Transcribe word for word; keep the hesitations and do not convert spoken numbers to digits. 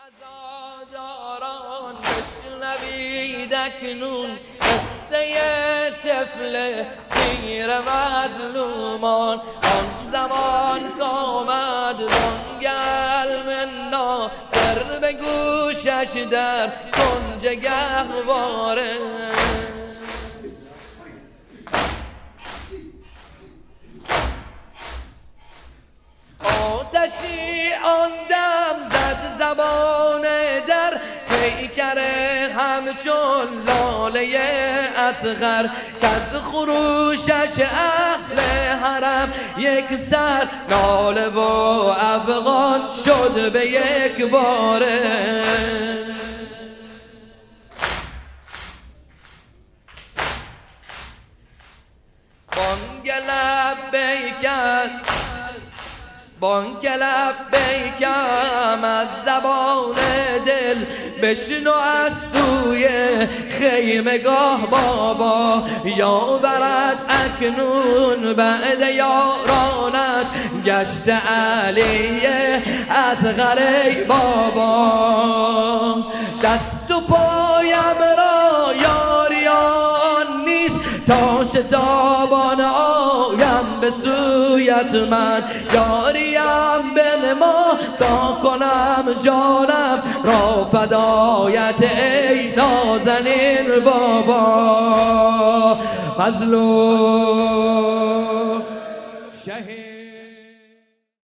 عزاداران بشنوید اکنون قصه طفل پیر مظلومان. آن زمان کامد بانگل من ناصر به گوشش در کنج گهواره. آتشی آن دم زد زبان در پیکر همچون لاله اصغر، که از خروشش اهل حرم یک سر ناله و افغان شد به یک باره. بانگ لبیک بانگ لبیکم از زبان دل بشنو از سوی خیمگاه بابا. یاورد اکنون بعد یارانت گشت علی اصغر ای بابا. دست و پایم را یاریان نیست تا شتابان آیم به سویت من. یاریم بنما تا کنم جانم را فدایت ای نازنین بابا. مظلوم